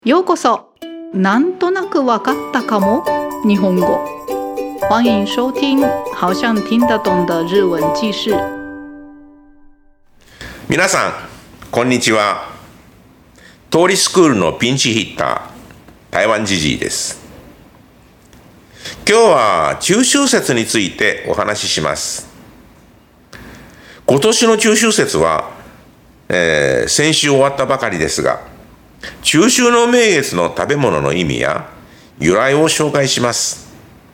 ようこそ。なんとなくわかったかも日本語。欢迎收听好像听得懂的日文記事。 皆さんこんにちは。通りスクールのピンチヒッター台湾じじいです。今日は中秋節についてお話しします。今年の中秋節は、先週終わったばかりですが、中秋の名月の食べ物の意味や由来を紹介します。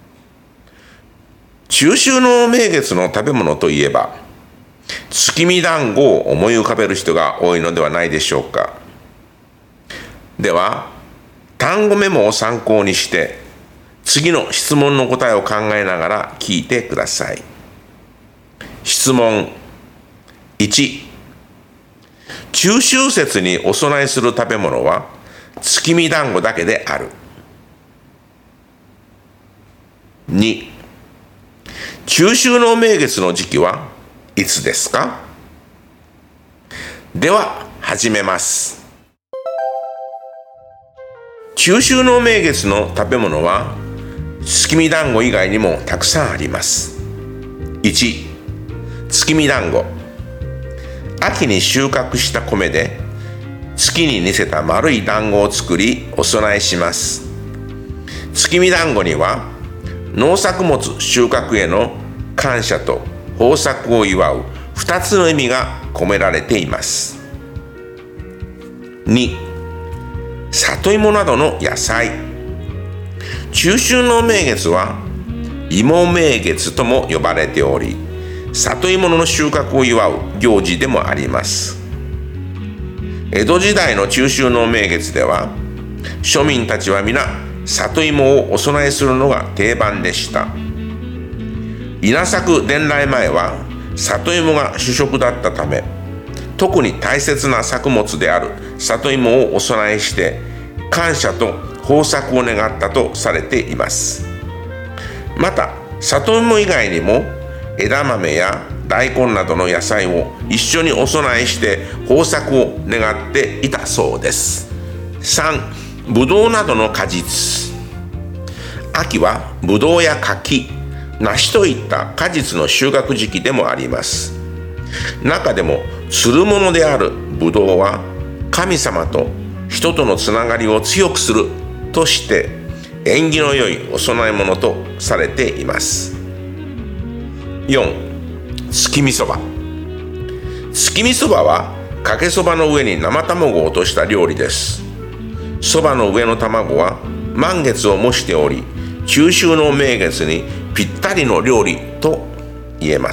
中秋の名月の食べ物といえば、月見団子を思い浮かべる人が多いのではないでしょうか。では、単語メモを参考にして、次の質問の答えを考えながら聞いてください。質問1、中秋節にお供えする食べ物は月見団子だけである。2、中秋の名月の時期はいつですか？では始めます。中秋の名月の食べ物は月見団子以外にもたくさんあります。1、月見団子。秋に収穫した米で月に似せた丸い団子を作りお供えします。月見団子には農作物収穫への感謝と豊作を祝う2つの意味が込められています。2、里芋などの野菜。中秋の名月は芋名月とも呼ばれており、里芋の収穫を祝う行事でもあります。江戸時代の中秋の名月では、庶民たちは皆里芋をお供えするのが定番でした。稲作伝来前は里芋が主食だったため、特に大切な作物である里芋をお供えして感謝と豊作を願ったとされています。また里芋以外にも枝豆や大根などの野菜を一緒にお供えして豊作を願っていたそうです。3、ぶどうなどの果実。秋はぶどうや柿、梨といった果実の収穫時期でもあります。中でもつるものであるぶどうは神様と人とのつながりを強くするとして縁起の良いお供え物とされています。4、月見そば。月見そばはかけそばの上に生卵を落とした料理です。そばの上の卵は満月を模しており、中秋の名月にぴったりの料理と言えます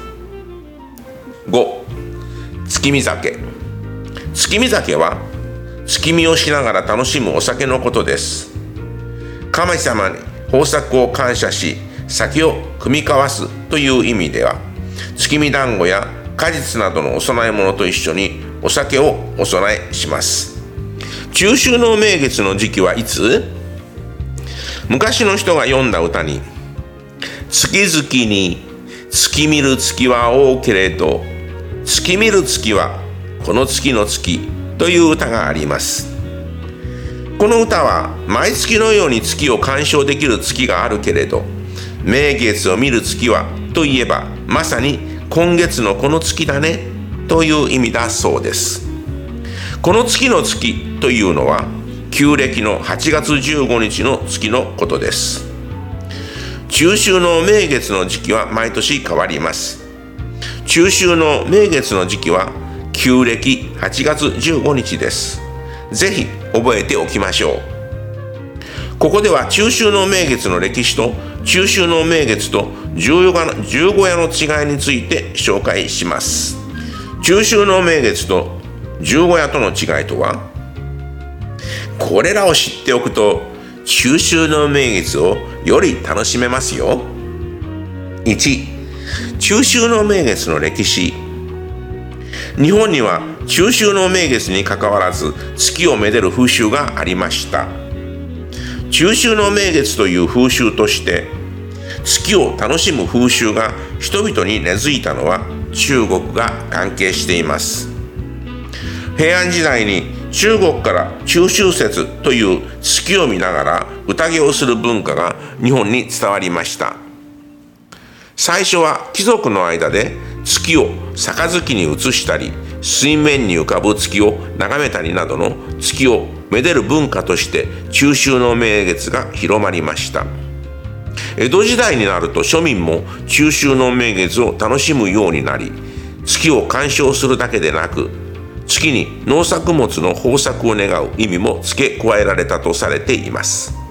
。5、月見酒。月見酒は月見をしながら楽しむお酒のことです。神様に豊作を感謝し、酒を酌み交わすという意味では、月見団子や果実などのお供え物と一緒にお酒をお供えします。中秋の名月の時期はいつ？昔の人が詠んだ歌に、月々に月見る月は多けれど、月見る月はこの月の月という歌があります。この歌は毎月のように月を鑑賞できる月があるけれど、名月を見る月はといえばまさに今月のこの月だねという意味だそうです。この月の月というのは旧暦の8月15日の月のことです。中秋の名月の時期は毎年変わります。中秋の名月の時期は旧暦8月15日です。ぜひ覚えておきましょう。ここでは中秋の名月の歴史と中秋の名月と十五夜の違いについて紹介します。中秋の名月と十五夜との違いとは、これらを知っておくと中秋の名月をより楽しめますよ。1、中秋の名月の歴史。日本には中秋の名月にかかわらず月をめでる風習がありました。中秋の名月という風習として月を楽しむ風習が人々に根付いたのは中国が関係しています。平安時代に中国から中秋節という月を見ながら宴をする文化が日本に伝わりました。最初は貴族の間で月を杯に移したり、水面に浮かぶ月を眺めたりなどの月をめでる文化として中秋の名月が広まりました。江戸時代になると庶民も中秋の名月を楽しむようになり、月を鑑賞するだけでなく、月に農作物の豊作を願う意味も付け加えられたとされています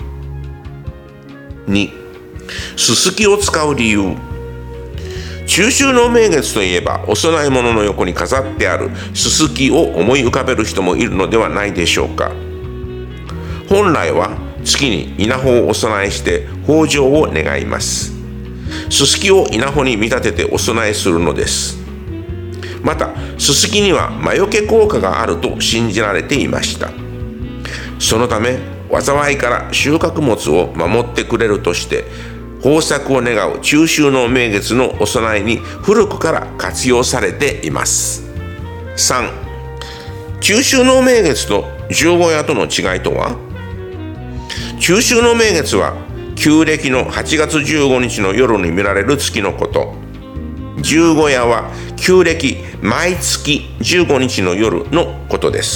。2、すすきを使う理由。中秋の名月といえば、お供え物の横に飾ってあるすすきを思い浮かべる人もいるのではないでしょうか。本来は月に稲穂をお供えして豊穣を願います。すすきを稲穂に見立ててお供えするのです。また、すすきには魔除け効果があると信じられていました。そのため、災いから収穫物を守ってくれるとして、豊作を願う中秋の名月のお供えに古くから活用されています。3、中秋の名月と十五夜との違いとは。中秋の名月は旧暦の8月15日の夜に見られる月のこと。十五夜は旧暦毎月15日の夜のことです。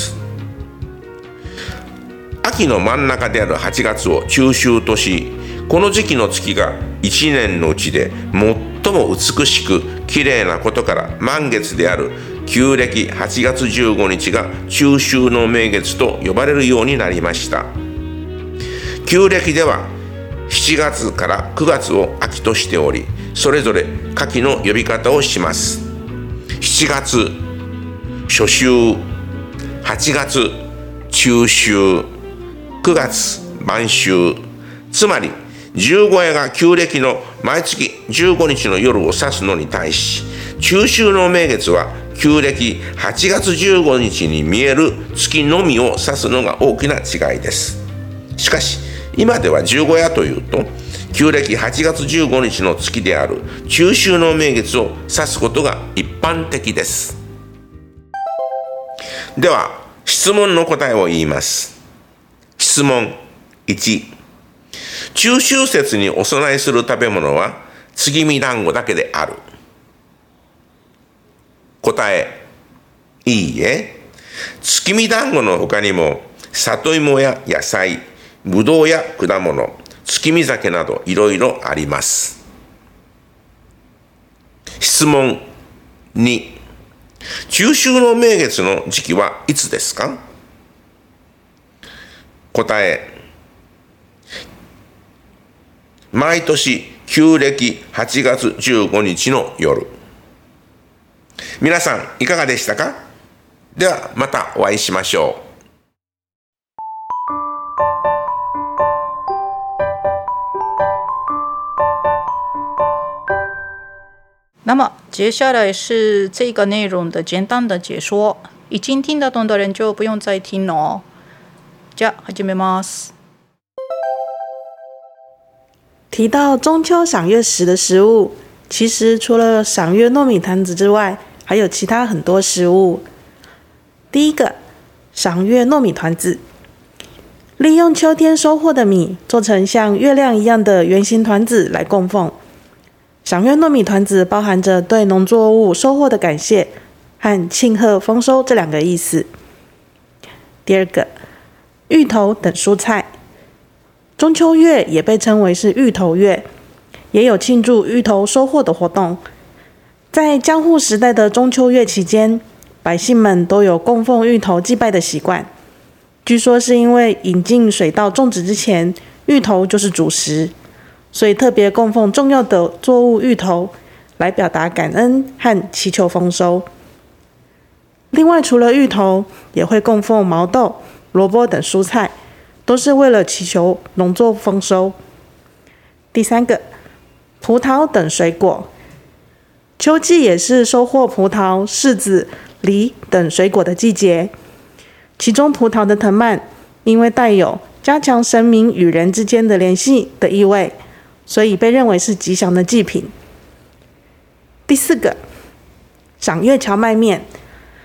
秋の真ん中である8月を中秋とし、この時期の月が1年のうちで最も美しく綺麗なことから満月である旧暦8月15日が中秋の名月と呼ばれるようになりました。旧暦では7月から9月を秋としており、それぞれ夏季の呼び方をします。7月、初秋、8月、中秋、9月、晩秋。つまり、十五夜が旧暦の毎月15日の夜を指すのに対し、中秋の名月は旧暦8月15日に見える月のみを指すのが大きな違いです。しかし、今では十五夜というと、旧暦8月15日の月である中秋の名月を指すことが一般的です。では、質問の答えを言います。質問1、中秋節にお供えする食べ物は月見団子だけである。答え、いいえ。月見団子の他にも里芋や野菜、ぶどうや果物、月見酒などいろいろあります。質問2、中秋の名月の時期はいつですか？答え、毎年旧暦8月15日の夜。皆さんいかがでしたか？ではまたお会いしましょう。 那么接下来是这个内容的简单的解说，已经听得懂的人就不用再听了哦。じゃあ始めます。 提到中秋赏月时的食物，其实除了赏月糯米团子之外，还有其他很多食物。第一个，赏月糯米团子，利用秋天收获的米做成像月亮一样的圆形团子来供奉。赏月糯米团子包含着对农作物收获的感谢和庆贺丰收这两个意思。第二个，芋头等蔬菜。中秋月也被称为是芋头月，也有庆祝芋头收获的活动。在江户时代的中秋月期间，百姓们都有供奉芋头祭拜的习惯。据说是因为引进水稻种植之前，芋头就是主食，所以特别供奉重要的作物芋头，来表达感恩和祈求丰收。另外，除了芋头，也会供奉毛豆、萝卜等蔬菜，都是为了祈求农作丰收。第三个，葡萄等水果。秋季也是收获葡萄、柿子、梨等水果的季节。其中葡萄的藤蔓，因为带有加强神明与人之间的联系的意味，所以被认为是吉祥的祭品。第四个，赏月荞麦面。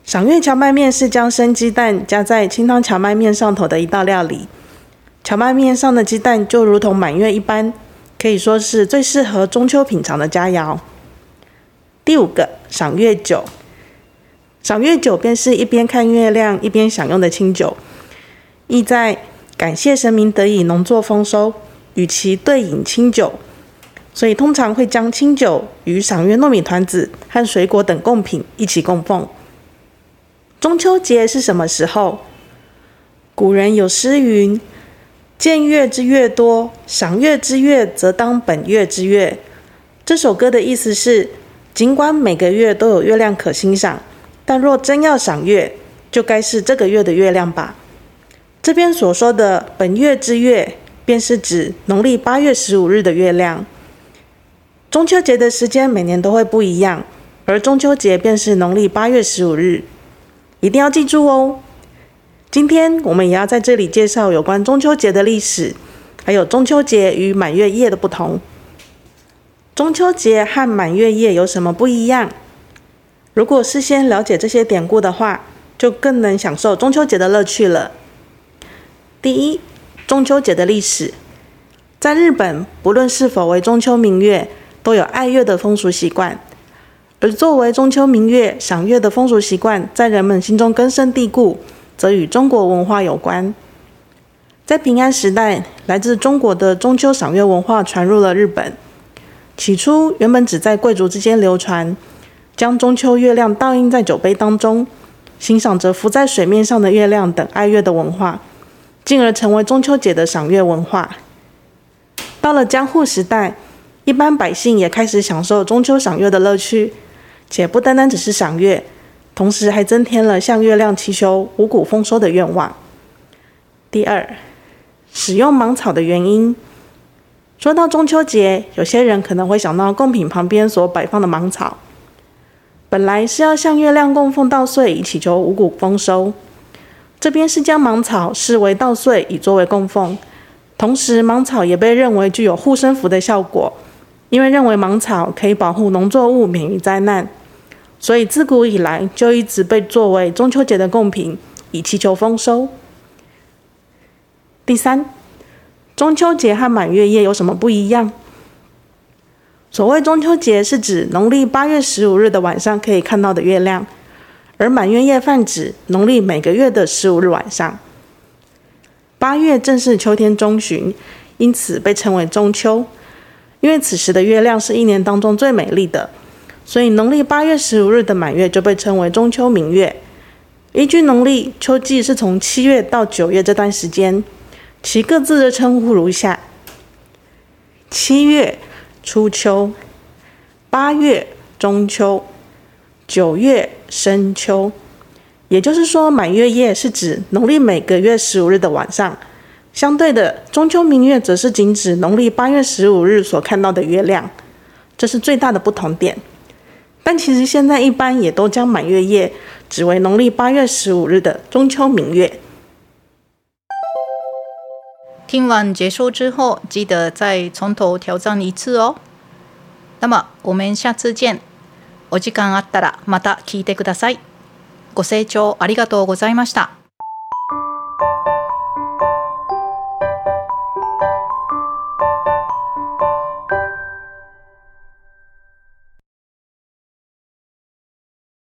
赏月荞麦面是将生鸡蛋加在清汤荞麦面上头的一道料理。荞麦面上的鸡蛋就如同满月一般，可以说是最适合中秋品尝的佳肴。第5个，赏月酒。赏月酒便是一边看月亮一边享用的清酒，意在感谢神明得以农作丰收，与其对饮清酒，所以通常会将清酒与赏月糯米团子和水果等贡品一起供奉。中秋节是什么时候？古人有诗云：见月之月多，赏月之月则当本月之月。这首歌的意思是，尽管每个月都有月亮可欣赏，但若真要赏月，就该是这个月的月亮吧。这边所说的本月之月，便是指农历8月15日的月亮。中秋节的时间每年都会不一样，而中秋节便是农历8月15日，一定要记住哦。今天我们也要在这里介绍有关中秋节的历史，还有中秋节与满月夜的不同。中秋节和满月夜有什么不一样？如果事先了解这些典故的话，就更能享受中秋节的乐趣了。第一，中秋节的历史。在日本，不论是否为中秋明月，都有爱月的风俗习惯。而作为中秋明月赏月的风俗习惯，在人们心中根深蒂固，则与中国文化有关。在平安时代，来自中国的中秋赏月文化传入了日本。起初，原本只在贵族之间流传，将中秋月亮倒映在酒杯当中，欣赏着浮在水面上的月亮等爱月的文化，进而成为中秋节的赏月文化。到了江户时代，一般百姓也开始享受中秋赏月的乐趣，且不单单只是赏月，同时还增添了向月亮祈求五谷丰收的愿望。第二，使用芒草的原因。说到中秋节，有些人可能会想到贡品旁边所摆放的芒草，本来是要向月亮供奉稻穗，以祈求五谷丰收。这边是将芒草视为稻穗，以作为供奉。同时，芒草也被认为具有护身符的效果，因为认为芒草可以保护农作物免于灾难，所以自古以来就一直被作为中秋节的贡品，以祈求丰收。第三，中秋节和满月夜有什么不一样？所谓中秋节是指农历8月15日的晚上可以看到的月亮，而满月夜泛指农历每个月的15日晚上。8月正是秋天中旬，因此被称为中秋。因为此时的月亮是一年当中最美丽的，所以农历8月15日的满月就被称为中秋明月。依据农历，秋季是从7月到9月这段时间，其各自的称呼如下：7月初秋，8月中秋，9月深秋。也就是说，满月夜是指农历每个月15日的晚上，相对的，中秋明月则是仅指农历8月15日所看到的月亮，这是最大的不同点。但其实现在一般也都将满月夜指为农历8月15日的中秋明月。 听完解说之后，记得再从头挑战一次哦。那么我们下次见。お時間あったらまた聞いてください。ご清聴ありがとうございました。